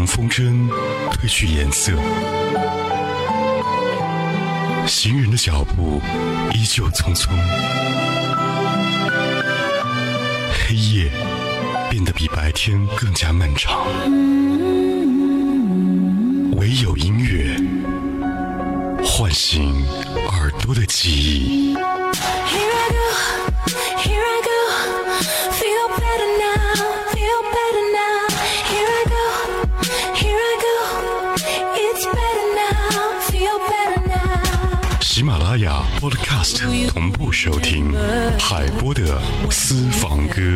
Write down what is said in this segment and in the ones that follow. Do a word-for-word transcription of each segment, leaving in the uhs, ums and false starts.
让风筝褪去颜色，行人的脚步依旧匆匆，黑夜变得比白天更加漫长，唯有音乐唤醒耳朵的记忆。 Here I go, here I go, feel better now, feel better now. Here I go, here I go, it's better now, feel better now. 喜马拉雅 Podcast 同步收听海波的私房歌。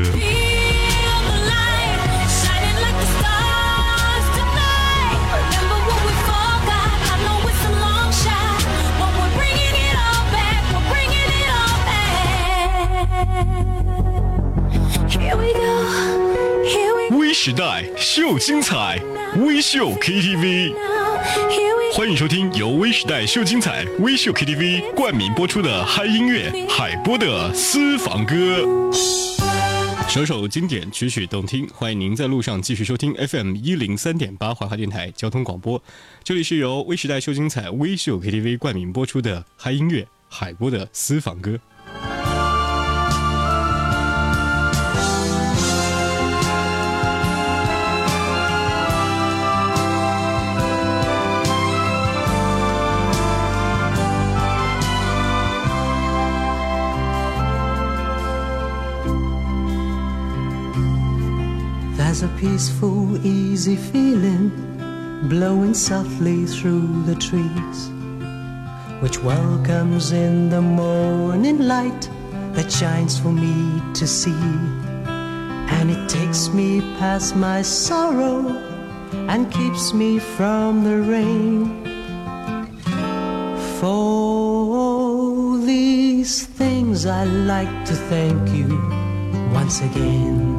微时代秀精彩，微秀 K T V， 欢迎收听由微时代秀精彩微秀 K T V 冠名播出的嗨音乐海波的私房歌。首首经典，曲曲动听，欢迎您在路上继续收听 F M 一零三点八怀化电台交通广播。这里是由微时代秀精彩微秀 K T V 冠名播出的嗨音乐海波的私房歌。 There's a peaceful, easy feeling blowing softly through the trees, which welcomes in the morning light that shines for me to see. And it takes me past my sorrow and keeps me from the rain. For all these things I like to thank you once again.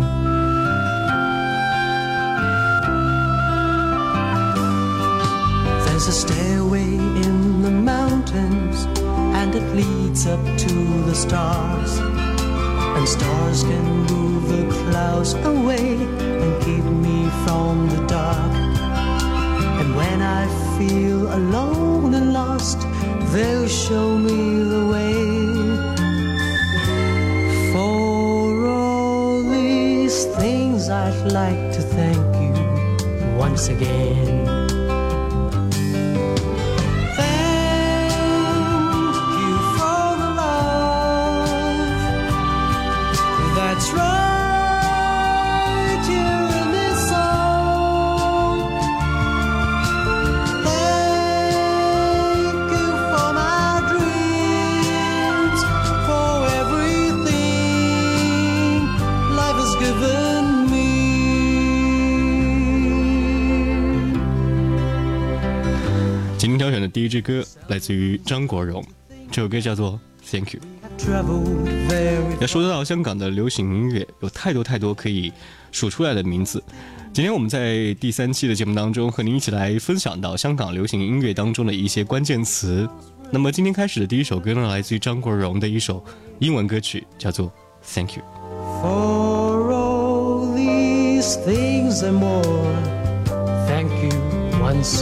There's a stairway in the mountains, and it leads up to the stars. And stars can move the clouds away and keep me from the dark. And when I feel alone and lost, they'll show me the way. For all these things I'd like to thank you once again. That's right here in this song. Thank you for my dreams, for everything life has given me. 今天挑选的第一支歌来自于张国荣，这首歌叫做 Thank You。要说到香港的流行音乐，有太多太多可以数出来的名字。今天我们在第三期的节目当中，和您一起来分享到香港流行音乐当中的一些关键词。那么今天开始的第一首歌呢，来自于张国荣的一首英文歌曲，叫做 Thank You。 For all these things and more, thank you once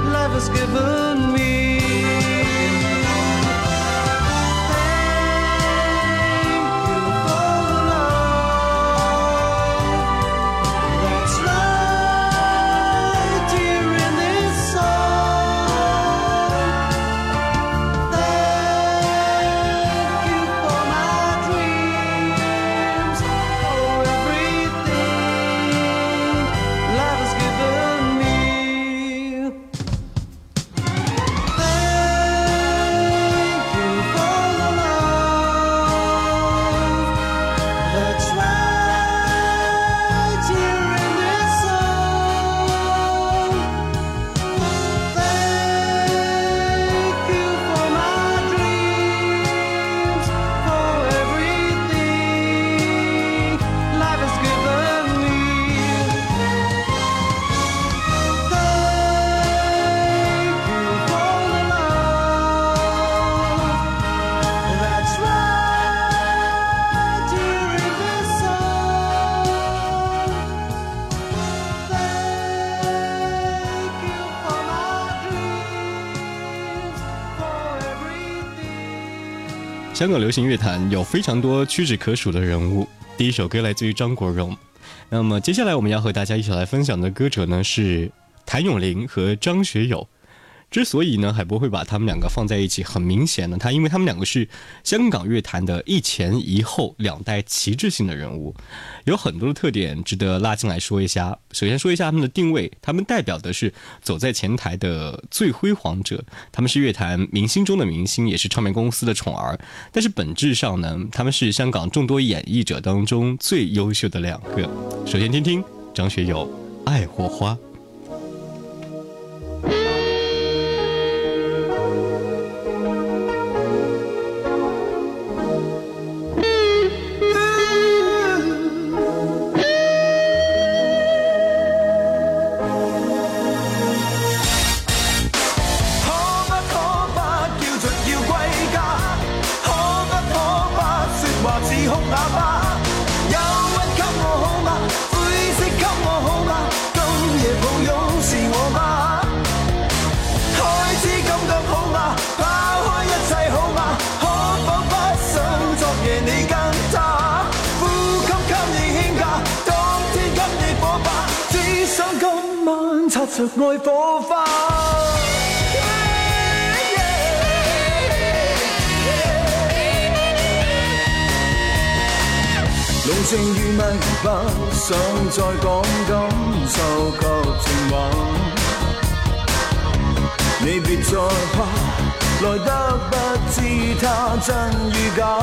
again.Given me. 香港流行乐坛有非常多屈指可数的人物。第一首歌来自于张国荣。那么接下来我们要和大家一起来分享的歌者呢是谭咏麟和张学友。之所以呢海波会把他们两个放在一起，很明显呢，他因为他们两个是香港乐坛的一前一后两代旗帜性的人物，有很多的特点值得拉进来说一下。首先说一下他们的定位，他们代表的是走在前台的最辉煌者，他们是乐坛明星中的明星，也是唱片公司的宠儿，但是本质上呢，他们是香港众多演绎者当中最优秀的两个。首先听听张学友《爱火花》。 擦着愛火花，濃情如蜜，不想再講感受及情話。你別再怕，來得不知它真與假。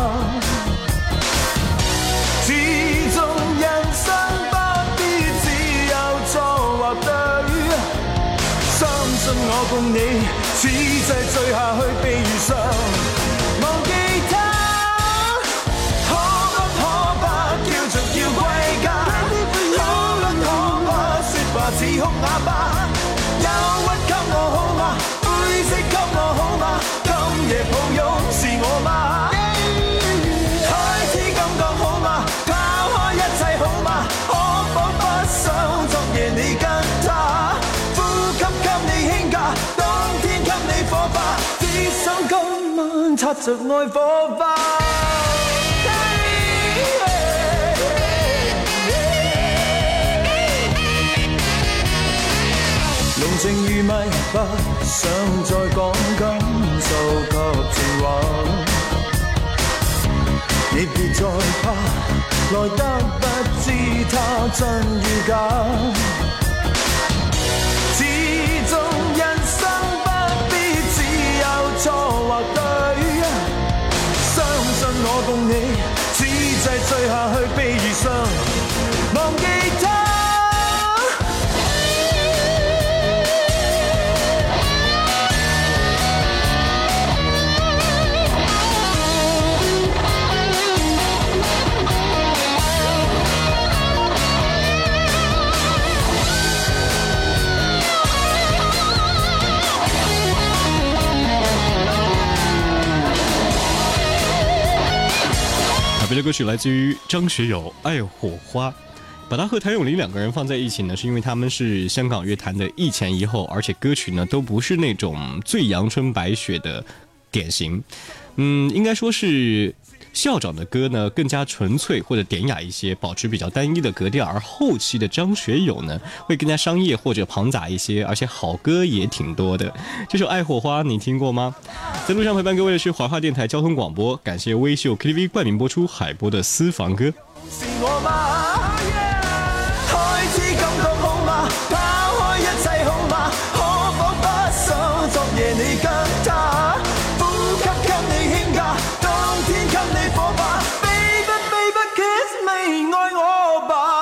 始終人生不必只有錯或對。相信我共你，此際醉下去被遇上，忘記他，可不可不叫着要歸家？可不可不說話似哭啞巴？憂鬱給我好嗎？灰色給我好嗎？今夜抱擁是我嗎？開始感覺好嗎？拋開一切好嗎？可否不想昨夜你跟他？當天給你火花，只想今晚擦着愛火花。濃情如蜜，不想再講感受及情話。你別再怕，來得不知它真與假。始終人生不必只有錯或對，相信我共你，此際醉下去被遇上，忘記他。 别的歌曲来自于张学友《爱火花》，把他和谭咏麟两个人放在一起呢，是因为他们是香港乐坛的一前一后，而且歌曲呢都不是那种最阳春白雪的典型，嗯，应该说是校长的歌呢更加纯粹或者典雅一些，保持比较单一的格调，而后期的张学友呢会更加商业或者庞杂一些，而且好歌也挺多的。这首《爱火花》你听过吗？在路上陪伴各位的是华华电台交通广播，感谢微秀 K T V 冠名播出海波的私房歌。 是我嗎？開始感覺好嗎？拋開一切好嗎？可否不想昨夜你跟他？呼吸給你輕假，當天給你火花。Baby baby kiss me， 愛我吧。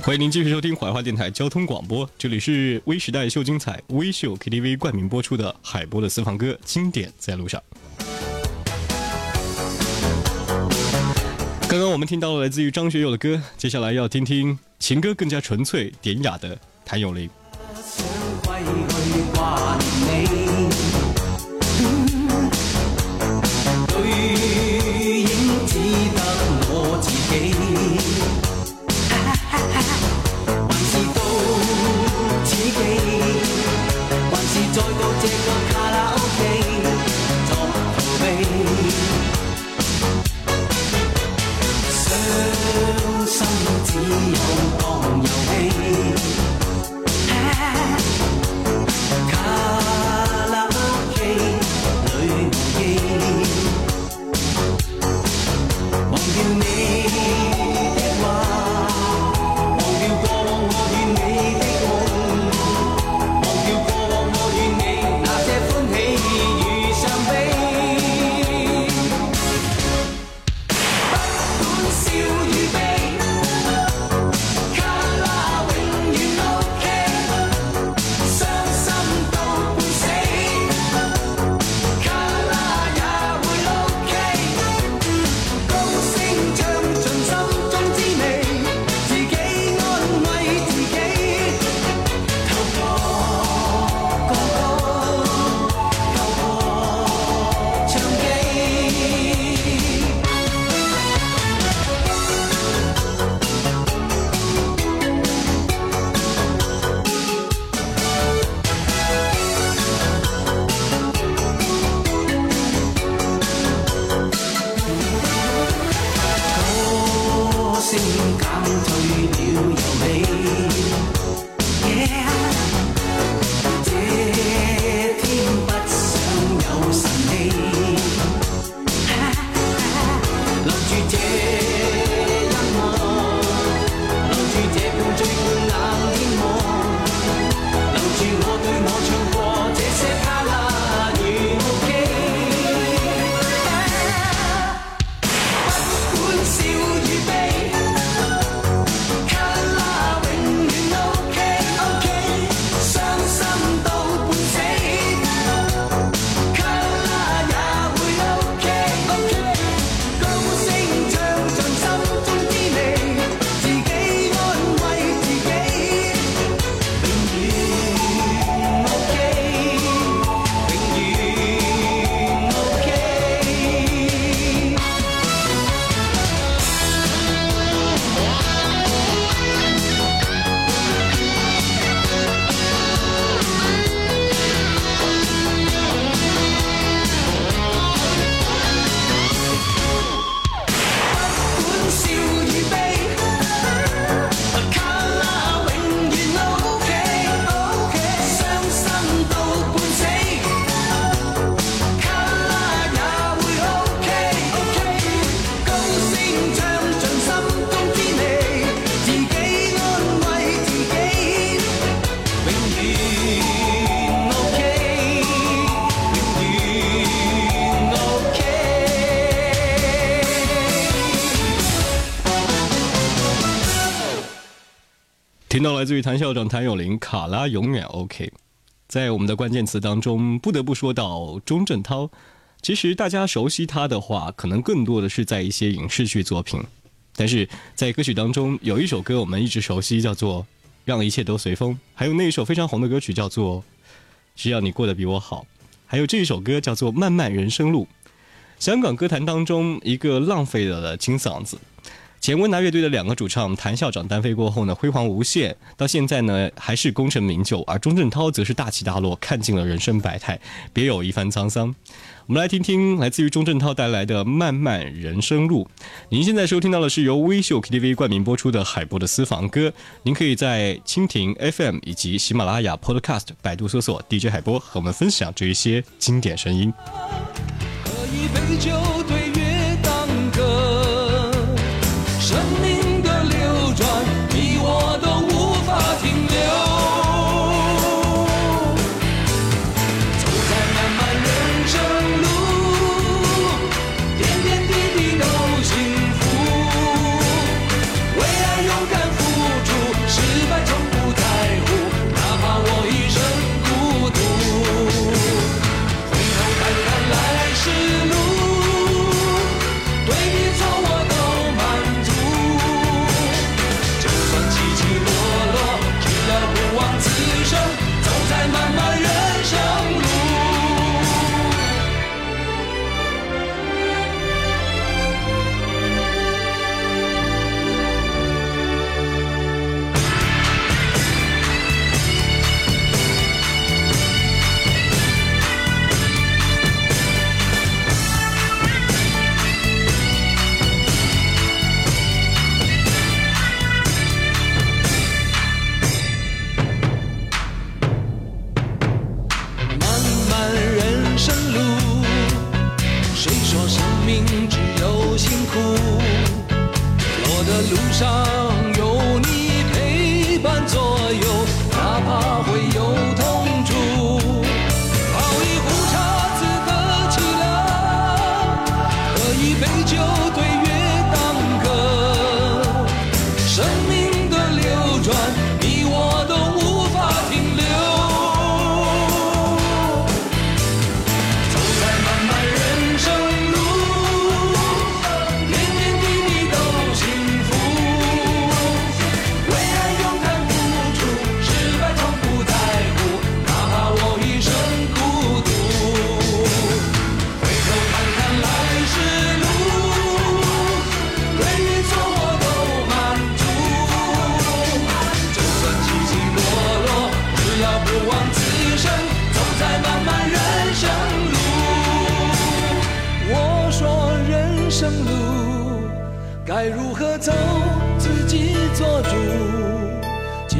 欢迎您继续收听怀化电台交通广播，这里是微时代秀精彩微秀 K T V 冠名播出的海波的私房歌经典在路上。刚刚我们听到了来自于张学友的歌，接下来要听听情歌更加纯粹典雅的谭咏麟。听到来自于谭校长谭咏麟卡拉永远 OK。 在我们的关键词当中不得不说到钟镇涛，其实大家熟悉他的话可能更多的是在一些影视剧作品，但是在歌曲当中有一首歌我们一直熟悉，叫做让一切都随风，还有那一首非常红的歌曲叫做只要你过得比我好，还有这一首歌叫做漫漫人生路。香港歌坛当中一个浪费了的金嗓子，前温拿乐队的两个主唱谭校长单飞过后呢，辉煌无限，到现在呢还是功成名就，而钟镇涛则是大起大落，看尽了人生百态，别有一番沧桑。我们来听听来自于钟镇涛带来的漫漫人生路。您现在收听到的是由微秀 K T V 冠名播出的海波的私房歌，您可以在蜻蜓 F M 以及喜马拉雅 Podcast 百度搜索 D J 海波，和我们分享这一些经典声音。 喝一杯酒对月当歌，生命的流转你我都无法停留，走在漫漫人生路，点点滴滴都幸福，为爱勇敢付出，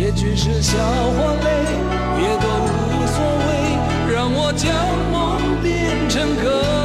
结局是笑或泪，也都无所谓，让我将梦变成歌。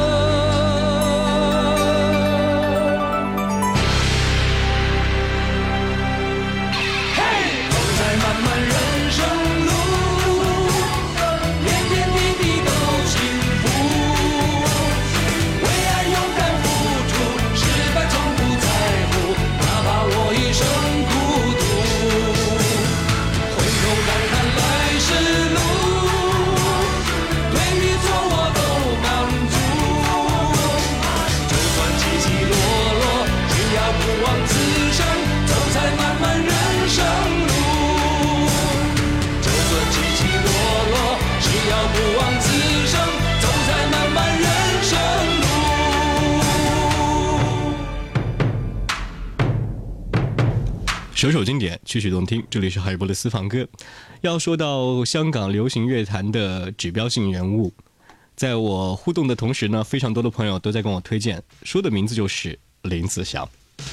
首首经典，曲曲动听。这里是海波的私房歌。要说到香港流行乐坛的指标性人物，在我互动的同时呢，非常多的朋友都在跟我推荐，说的名字就是林子祥。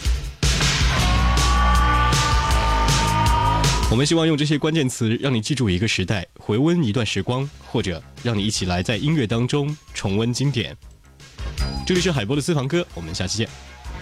我们希望用这些关键词让你记住一个时代，回温一段时光，或者让你一起来在音乐当中重温经典。这里是海波的私房歌，我们下期见。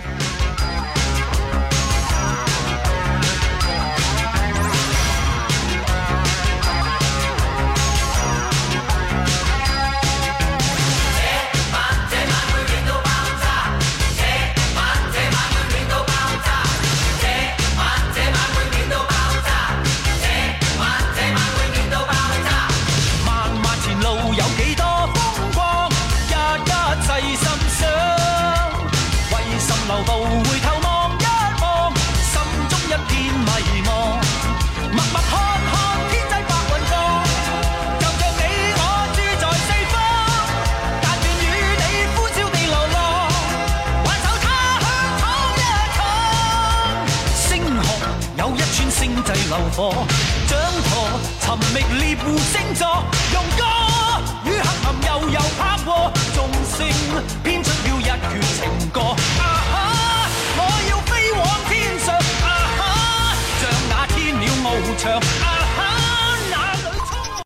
掌舵尋覓獵戶星座，用歌與黑暗悠悠拍和，眾星編出了一闕情歌。啊哈！我要飛往天上，啊哈！像那天鳥翱翔，啊哈！